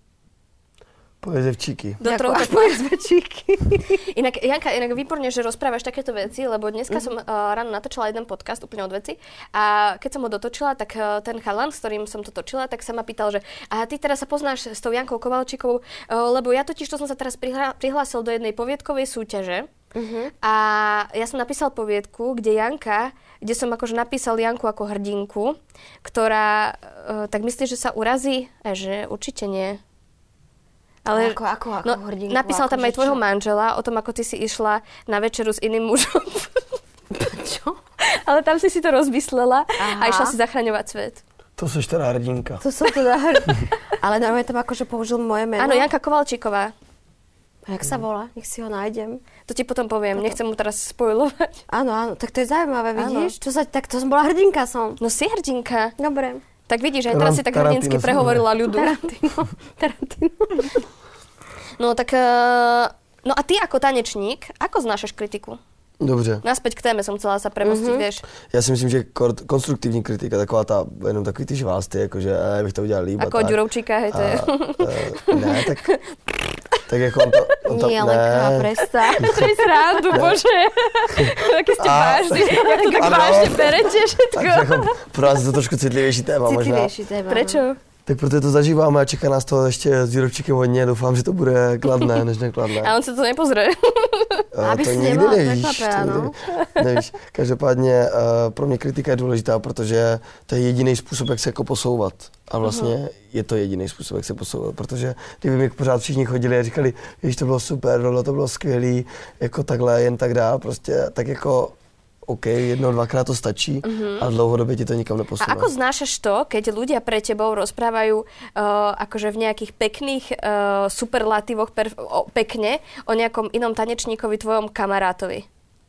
Pojezevčíky. Do trochu až po jezvečíky. Inak, Janka, inak výborne, že rozprávaš takéto veci, lebo dneska mm-hmm. som uh, ráno natočila jeden podcast úplne od veci a keď som ho dotočila, tak uh, ten chalan, s ktorým som to točila, tak sa ma pýtal, že a ty teraz sa poznáš s tou Jankou Kovalčíkovou, uh, lebo ja totiž to som sa teraz prihla- prihlásil do jednej poviedkovej súťaže mm-hmm. a ja som napísal poviedku, kde Janka, kde som akože napísal Janku ako hrdinku, ktorá, uh, tak myslíš, že sa urazí? A že určite nie. Ale Ako, ako, ako no, hrdinku? napísal tam Akože aj tvojho čo? manžela o tom, ako ty si išla na večeru s iným mužom. Čo? Ale tam si si to rozmyslela Aha. a išla si zachraňovať svet. To seš teda hrdinka. To som teda... Ale normálne tam akože použil moje meno. Áno, Janka Kovalčíková. A jak sa volá? Nech si ho nájdem. To ti potom poviem, nechcem mu teraz spoilovať. Áno, áno, tak to je zaujímavé, Áno. vidíš? Čo sa, tak to som bola hrdinka som. No si hrdinka. Dobre. Tak vidíš, aj teraz si tak Tarantino hrdinsky som prehovorila ľudu. Tarantino. Tarantino. No tak, uh, no a ty ako tanečník, ako znášaš kritiku? Dobře. Naspäť k téme som chcela sa premostiť, mm-hmm. vieš. Já si myslím, že kor- konstruktivní kritika, taková ta, jenom takový ty žvásty, jakože eh, bych to udělal líp. Ako od Ďurovčíka, hej, to je. Uh, ne, tak, tak jako on to... On to Nie, Lenka, prestaň. Čo je srandu, bože. Taký ste A- vážni, jak to tak Ano. vážne berete všetko. Tak jako pro nás je to trošku citlivější téma možná. Citlivejší téma. Prečo? Tak proto to zažíváme a čeká nás to ještě s výrobčíkem hodně. Doufám, že to bude kladné, než nekladné. A on se to nepozře. A Aby to si nikdy nemohla nevíš. překvapit, To nikdy, nevíš. Každopádně uh, pro mě kritika je důležitá, protože to je jediný způsob, jak se jako posouvat. A vlastně uh-huh. je to jediný způsob, jak se posouvat, protože kdyby mi pořád všichni chodili a říkali, že to bylo super, to bylo skvělý, jako takhle, jen tak dál, prostě tak jako OK, jednou, dvakrát to stačí, uh-huh. a dlouhodobě ti to nikam neposúva. A ako znášaš to, keď ľudia pre tebou rozprávajú uh, akože v nejakých pekných uh, superlatívoch perf- o, pekne o nejakom inom tanečníkovi, tvojom kamarátovi?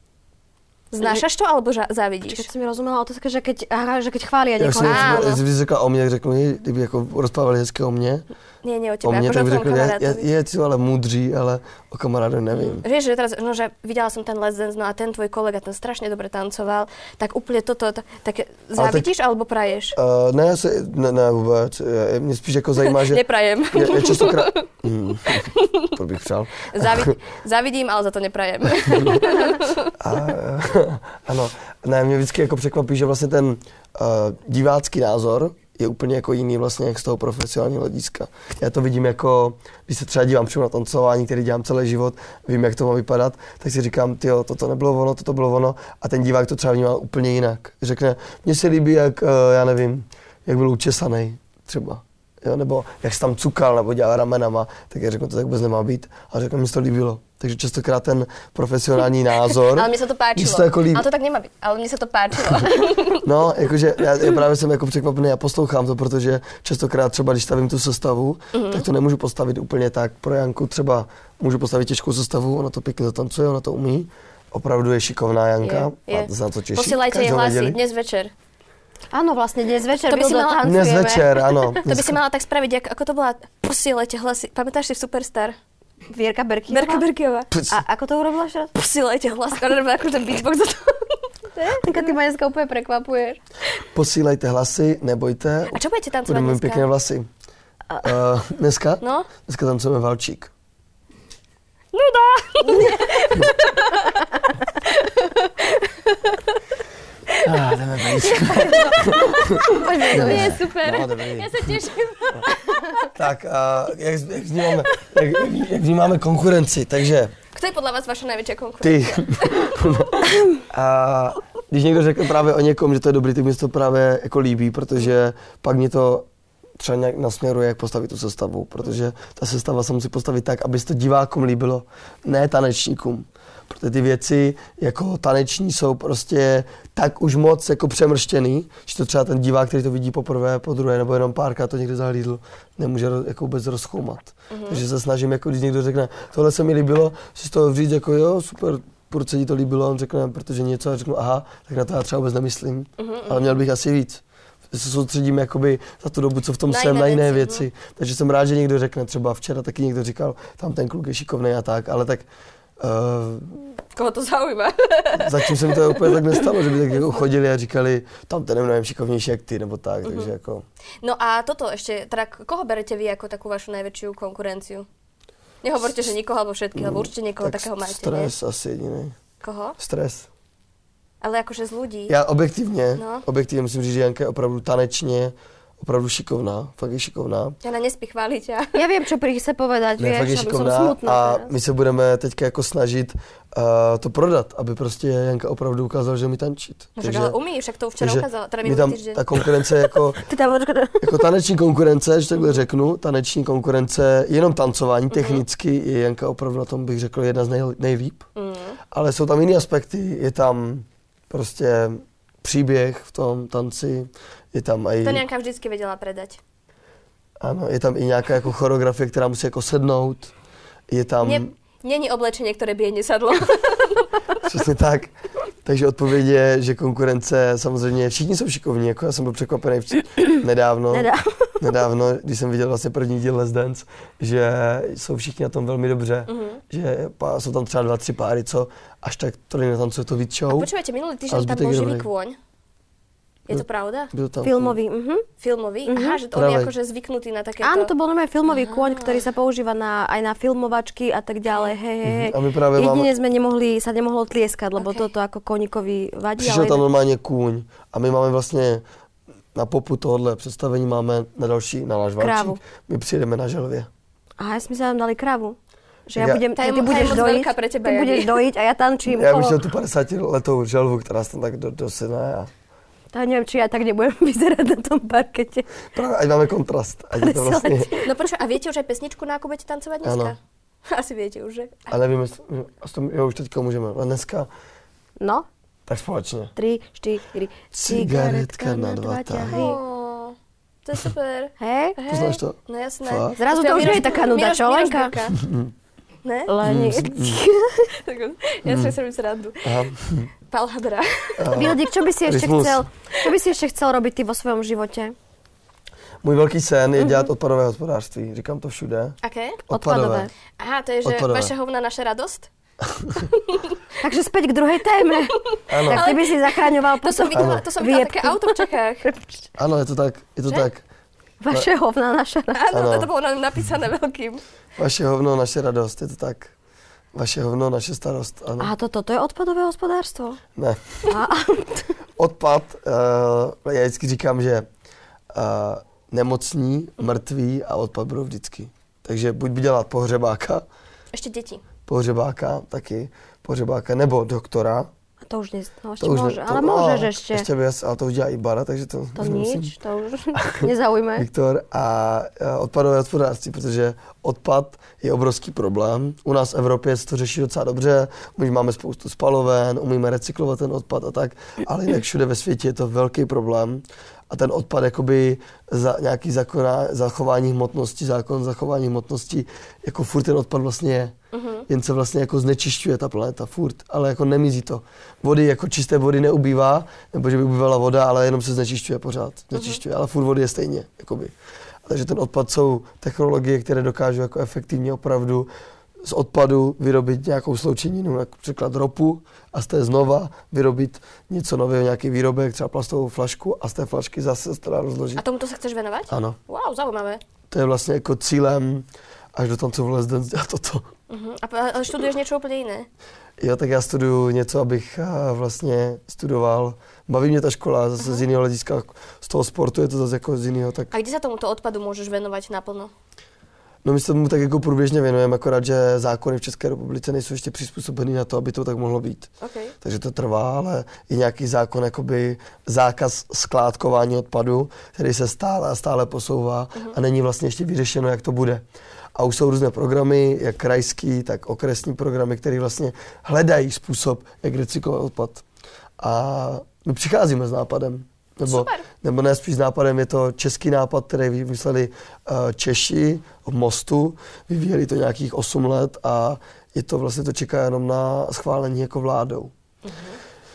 Znášaš to, alebo ža- závidíš? Keď som mi rozumela otázka, že keď, aha, že keď chvália Já niekoho. jsem, jestli bys řekla o mně, řeknu, kdyby jako rozprávali hezky o mně, Nie, nie o o tebe, mně, akože tak o by tvojom řekli, je, kamarátovi. je, je ale múdří, ale o kamarádovi nevím. Vieš, že teraz, no, že videla som ten Let's Dance, no a ten tvoj kolega, ten strašne dobre tancoval, tak úplne toto, tak, tak závidíš tak, alebo praješ? Uh, ne, já se, ne, ne vůbec, je, mě spíš jako zajímá, že... Neprajem. Je, je častokrát... Hmm, to bych přál. Závid, závidím, ale za to neprajem. A, ano, ne, mě vždycky jako překvapí, že vlastně ten uh, divácký názor je úplně jako jiný vlastně jak z toho profesionálního hlediska. Já to vidím jako, když se třeba dívám přímo na tancování, který dělám celý život, vím, jak to má vypadat, tak si říkám, tyjo, toto nebylo ono, toto bylo ono, a ten divák to třeba vnímá úplně jinak. Řekne, mně se líbí, jak, uh, já nevím, jak byl učesaný třeba. Jo, nebo jak se tam cukal, nebo dělal ramenama, tak já řeknu, to tak vůbec nemá být. A řeknu, mi se to líbilo. Takže častokrát ten profesionální názor... Ale mně se to páčilo. To jako líbí. Ale to tak nemá být. Ale mně se to páčilo. No, jakože já, já právě jsem jako překvapený a poslouchám to, protože častokrát třeba, když stavím tu sestavu, mm-hmm. tak to nemůžu postavit úplně tak. Pro Janku třeba můžu postavit těžkou sestavu, ona to pěkně zatancuje, ona to umí. Opravdu je šikovná Janka. Je, je. A to se na to těší. Posílajte jej hlasy dnes večer. Áno, vlastne dnes večer To by si mala- tancujeme. Dnes večer, áno. To by si mala tak spraviť, jak, ako to bola, posílajte hlasy. Pamätáš si v Superstar? Vierka Berkiová. Berka Berkiová. A ako to urobila ešte raz? Posílajte hlasy. Ona robila ako ten beatbox za to. Tanka, ty ma dneska úplne prekvapuješ. Posílejte hlasy, nebojte. A čo budete tancovať Budeme mít dneska? pěkné vlasy. Uh, dneska? No? Dneska tancujeme valčík. Nuda! Ah, jdeme blízko. To je super. No, dobrý. Ja sa teším. Tak, uh, jak, jak, vnímáme, jak, jak vnímáme konkurenci, takže Kto je podľa vás vaša najväčšia konkurencia? ty. A když někdo řekne právě o někom, že to je dobrý, tak mi se to právě jako líbí, protože pak mě to třeba nějak nasměruje, jak postavit tu sestavu, protože ta sestava se musí postavit tak, aby se to divákům líbilo, ne tanečníkům. Protože ty věci jako taneční jsou prostě tak už moc jako přemrštěný, že to třeba ten divák, který to vidí poprvé, po druhé nebo jenom párkrát to někde zahlídl, nemůže jako vůbec rozchoumat. Mm-hmm. Takže se snažím, jako když někdo řekne, tohle se mi líbilo, si z toho říct jako jo, super, proč se ti to líbilo, on řekne, protože něco, a řeknu aha, tak na to já třeba vůbec nemyslím, mm-hmm. ale měl bych asi víc. Se soustředím jakoby za tu dobu, co v tom na jsem, jiné na jiné věci, věci. No. Takže jsem rád, že někdo řekne, třeba včera taky někdo říkal, tam ten kluk je šikovný a tak, ale tak uh, Koho to zaujíma? zatím se mi to úplně tak nestalo, že by tak jako chodili a říkali, tam ten je mnohem šikovnější jak ty, nebo tak, uh-huh. takže jako... No a toto ešte, teda koho berete vy ako takú vašu najväčšiu konkurenciu? Nehovorte, že nikoho alebo všetkých, alebo určite niekoho tak takého máte, stres nie? asi jediný. Koho? Stres. Ale akože z ľudí. Já objektivně, No. objektivně musím říct, že Janka je opravdu tanečně, opravdu šikovná, fakt je šikovná. Jana, nespí chváliť ťa. Ja viem, čo pri chce povedať, Ne, fakt je vieš, aby som šikovná smutná. a teraz. my se budeme teďka jako snažit uh, to prodat, aby prostě Janka opravdu ukázala, že umí tančit. No však ale umí, však to včera takže ukázala, teda my minulý tam týždeň. ta konkurence jako, Ty tam počkaj. jako taneční konkurence, že takhle řeknu, taneční konkurence, jenom tancování, technicky je Janka opravdu na tom, bych řekl, jedna z nej, nejlíp. Mm. Ale jsou tam jiné aspekty, je tam prostě příběh v tom tanci, je tam i... To Janka vždycky vedela predať. Ano, je tam i nějaká jako choreografie, která musí jako sednout, je tam... Nie, není oblečenie, ktoré by jej nesadlo. Přesně tak. Takže odpověď je, že konkurence samozřejmě, všichni jsou šikovní, jako já jsem byl překvapený vč- nedávno, Nedávno. nedávno, když jsem viděl vlastně první díl Let's Dance, že jsou všichni na tom velmi dobře, Mhm. že pá, jsou tam třeba dva, tři páry, co až tak to netancuje to víc A show. počúvajte, minulý Ale týždeň tam zbytek bol je živý dobrý. kôň. Je to pravda? Byl tam Filmový, mhm. Filmový? Mhm. Aha, že to on je Pravej. akože zvyknutý na takéto... Áno, to bol normálne filmový kôň, ktorý sa používa na, aj na filmovačky a tak ďalej. Hej, hej, hej. A my práve Jedine máme- sme nemohli, sa nemohlo tlieskať, lebo Ok. toto ako koníkovi vadí. Přišel ale tam normálně kůň a my máme vlastně na popu tohohle představení máme na další, na náš valčík. Krávu. My přijedeme na želvě. Aha, ja sme sa tam dali kravu. Že ja, Ja- budem, Tá je ty mo- budeš tá je moc dojiť, veľká pre teba, ty ja budeš nie. dojiť a ja tančím Já bych kolo. chtěl tu padesátiletou želvu, která se tam tak do, dosyne a Tak neviem, či ja tak nebudem vyzerať na tom parkete. právě ať máme kontrast. Ať je to vlastně, No prečo, a viete už aj pesničku, na ako budete tancovať dneska? Áno. Asi viete už, že? a nevím, jestli, jo, už teďka můžeme, ale dneska, No, tak společně. tri, štyri. Cigaretka na dva ťahy. Ó, to je super. Hej? Hej. Poznáš to? No jasné. Fakt? Zrazu to Spieva už nie je Miroš- taká nuda, Miroš- čo, Miroš Lenka? Birka. Ne? Leni. Tak on- Ja si sa robím srandu. Aha. Pál Hadra. Vildik, čo by si ešte Rytmus. chcel, čo by si ešte chcel robiť ty vo svojom živote? Můj velký sen je dělat odpadové hospodářství, říkám to všude. Aké? Odpadové. Aha, to je, že Odpadové. vaša hovna, naša radosť? Takže späť k druhej téme. Ano, Tak ty by si zachraňoval To som potom videla, to som videla výjebky. také auto v Čechách. ano, je to tak, je to Že? tak. Vaše hovna, naša radost. Áno, Áno. to bolo na- napísané veľkým. Vaše hovno, naše radost, je to tak. Vaše hovno, naše starost, ano. A toto, to je odpadové hospodárstvo? Ne. A, Odpad, uh, já vždycky říkám, že uh, nemocní, mrtví a odpad budou vždycky. Takže buď by dělat pohřebáka, Ešte deti. pohřebáka taky, pohřebáka nebo doktora. a to už, ne, no, ešte To už môže, ne, ale to, môžeš a, ešte. Ještě věc, ale to už dělá i Bara, takže to, To už nemusím. nič, to už nezaujme. Viktor a a odpadové hospodářství, protože odpad je obrovský problém. U nás v Evropě se to řeší docela dobře, my máme spoustu spaloven, umíme recyklovat ten odpad a tak, ale jinak všude ve světě je to velký problém. A ten odpad jakoby za nějaký zákona, zachování hmotnosti, zákon zachování hmotnosti, jako furt ten odpad vlastně je. Mhm. Jen se vlastně jako znečišťuje ta planeta, furt, ale jako nemizí to. Vody, jako čisté vody neubývá, nebo že by ubývala voda, ale jenom se znečišťuje pořád. Znečišťuje, ale furt vody je stejně, jakoby. A takže ten odpad jsou technologie, které dokážou jako efektivně opravdu z odpadu vyrobit nějakou sloučeninu, například ropu, a z té znova vyrobit něco nového, nějaký výrobek, třeba plastovou flašku a z té flašky zase se to dá rozložit. A tomuto sa chceš venovať? Ano, Wow, zaujímavé. to je vlastně jako cílem až do tancov Les Dance dělat toto. Uh-huh. A p- ale študuješ niečo úplne iné? Jo, tak já studuju něco, abych a, vlastně studoval. Baví mě ta škola zase uh-huh. z jiného hlediska, z toho sportu je to zase jako z jiného. Tak... A kde sa tomuto odpadu môžeš venovať naplno? No my se tomu tak jako průběžně věnujeme, akorát, že zákony v České republice nejsou ještě přizpůsobený na to, aby to tak mohlo být. Okay. Takže to trvá, ale je nějaký zákon, jakoby zákaz skládkování odpadu, který se stále a stále posouvá uh-huh. a není vlastně ještě vyřešeno, jak to bude. A už jsou různé programy, jak krajský, tak okresní programy, které vlastně hledají způsob, jak recyklovat odpad. A my přicházíme s nápadem. Nebo, Super. nebo ne spíš s nápadem, je to český nápad, který vymysleli uh, Češi v Mostu, vyvíjeli to nějakých osm let a je to vlastně to čeká jenom na schválení jako vládou. Uh-huh.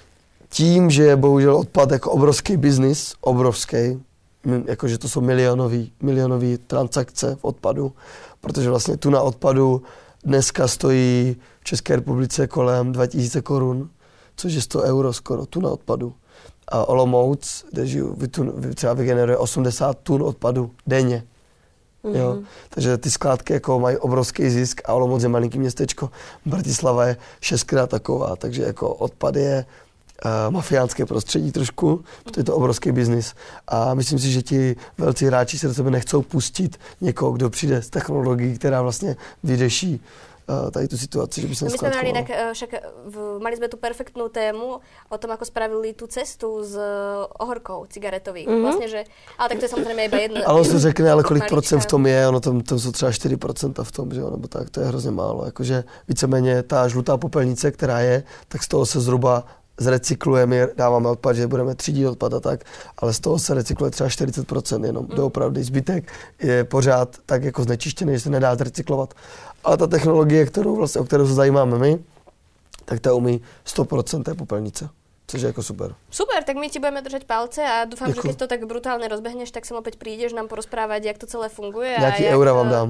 Tím, že je bohužel odpad jako obrovský biznis, obrovský, jakože to jsou milionový, milionový transakce v odpadu, protože vlastně tuna odpadu dneska stojí v České republice kolem dva tisíce korun, což je sto euro skoro, tuna odpadu. A Olomouc, kde žiju, třeba vygeneruje osmdesát tun odpadu denně. Mm-hmm. Jo? Takže ty skládky jako mají obrovský zisk a Olomouc je malinký městečko. Bratislava je šestkrát taková, takže jako odpad je uh, mafiánské prostředí trošku, protože je to obrovský biznis. A myslím si, že ti velcí hráči se do sebe nechcou pustit někoho, kdo přijde s technologií, která vlastně vyřeší tady tú situáciu, že by som no my sme mali skladkoval. inak, však v, mali sme tú perfektnú tému o tom, ako spravili tú cestu s ohorkou cigaretových. Mm-hmm. Vlastne, že, ale tak to je samozrejme iba jedno. Ale on si řekne, ale kolik malička. procent v tom je, ono tam, tam jsou třeba čtyři procenta v tom, že jo, nebo tak, to je hrozně málo. Jakože víceméně ta žlutá popelnice, která je, tak z toho se zhruba zrecyklujeme, dáváme odpad, že budeme třídit odpad a tak, ale z toho se recykluje třeba čtyřicet procent jenom, mm. doopravdy. Zbytek je pořád tak jako znečištěný, že se nedá zrecyklovat. Ale ta technologie, kterou vlastně, o kterou se zajímáme my, tak ta umí sto procent té popelnice, což je jako super. Super, tak my ti budeme držať palce a dúfam, Děkuji. že keď to tak brutálne rozbehneš, tak sem opäť prídeš nám porozprávať, jak to celé funguje. Nějaký a jak, eura vám dám.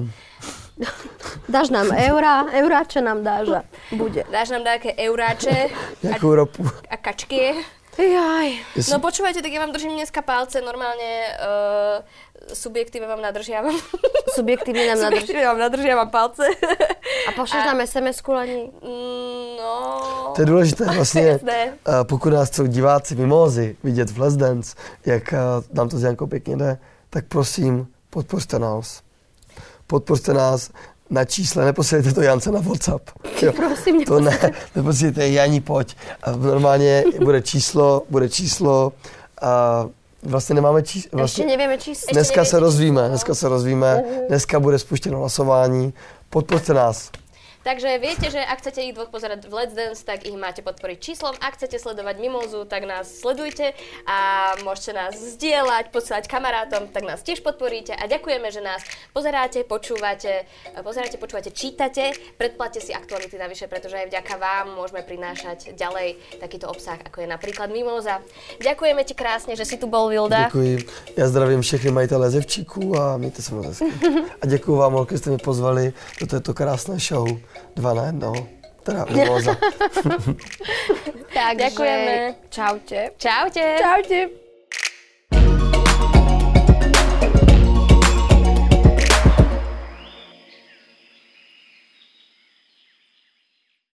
Dáš nám eura, euráče nám dáš a bude. Dáš nám nejaké euráče Nějakou ropu. a kačky. Jaj. No počúvajte, tak ja vám držím dneska palce, normálne uh, subjektíve vám nadržiavam. Subjektívne nám nadržiavam. Subjektívne vám nadržiavam palce. A pošleš nám es em esku, Leni? No... To je důležité vlastně, uh, pokud nás chcou diváci Mimózy vidět v Let's Dance, jak uh, nám to s Jankou pěkně jde, tak prosím, podpořte nás. Podpořte nás na čísle, neposílejte to Jance na WhatsApp. Jo. Prosím, to ne, neposílejte Janí, pojď. A normálně bude číslo, bude číslo a vlastně nemáme číslo. Vlastně, ještě nevíme číslo. Dneska se rozvíme, dneska se rozvíme, dneska bude spuštěno hlasování. Podpořte nás. Takže viete, že ak chcete ich dvoch pozerať v Let's Dance, tak ich máte podporiť číslom. Ak chcete sledovať Mimózu, tak nás sledujte a môžete nás zdieľať, posielať kamarátom, tak nás tiež podporíte. A ďakujeme, že nás pozeráte, počúvate, pozeráte, počúvate, čítate. Predplatte si aktuality navyše, pretože aj vďaka vám môžeme prinášať ďalej takýto obsah, ako je napríklad Mimóza. Ďakujeme ti krásne, že si tu bol, Vilda. Děkuji. Já zdravím všechny majitele Zevčíků a mějte se moc hezky. A děkuji vám, holky, že jste mě pozvali do této krásné show. Dva na jednoho. Teda Mimóza. Tak, ďakujeme. Čaute. Čaute. Čaute.